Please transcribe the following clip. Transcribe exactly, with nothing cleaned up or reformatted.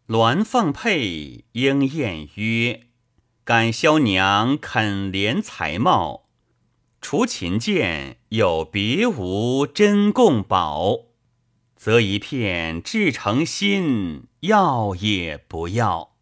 鸾凤佩，莺燕约。感萧娘肯怜才貌，除琴剑，有别无珍贡宝。则一片至诚心，要也不要。